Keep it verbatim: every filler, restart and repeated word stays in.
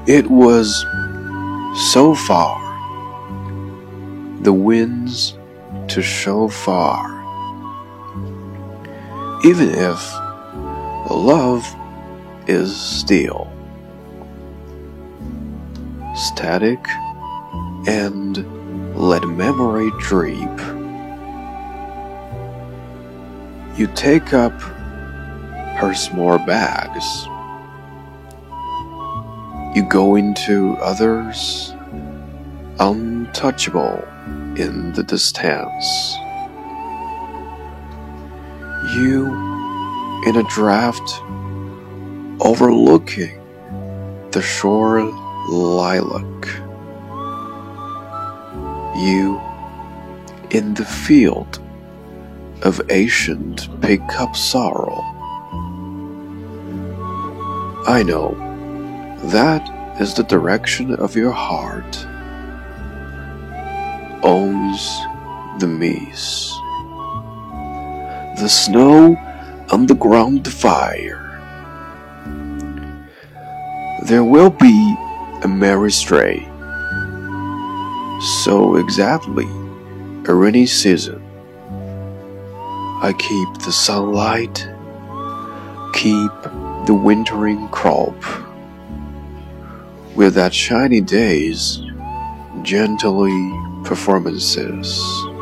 It was so far, the winds to show far. Even if love is still, static, and let memory drip. You take up her small bags. You go into others untouchable in the distance. You in a draft overlooking the shore lilac. You in the field of ancient pick-up sorrow. I know that is the direction of your heart, owns the mist, the snow on the ground fire. There will be a merry stray, so exactly a rainy season. I keep the sunlight, keep the wintering crop, with that shiny day's gently performances.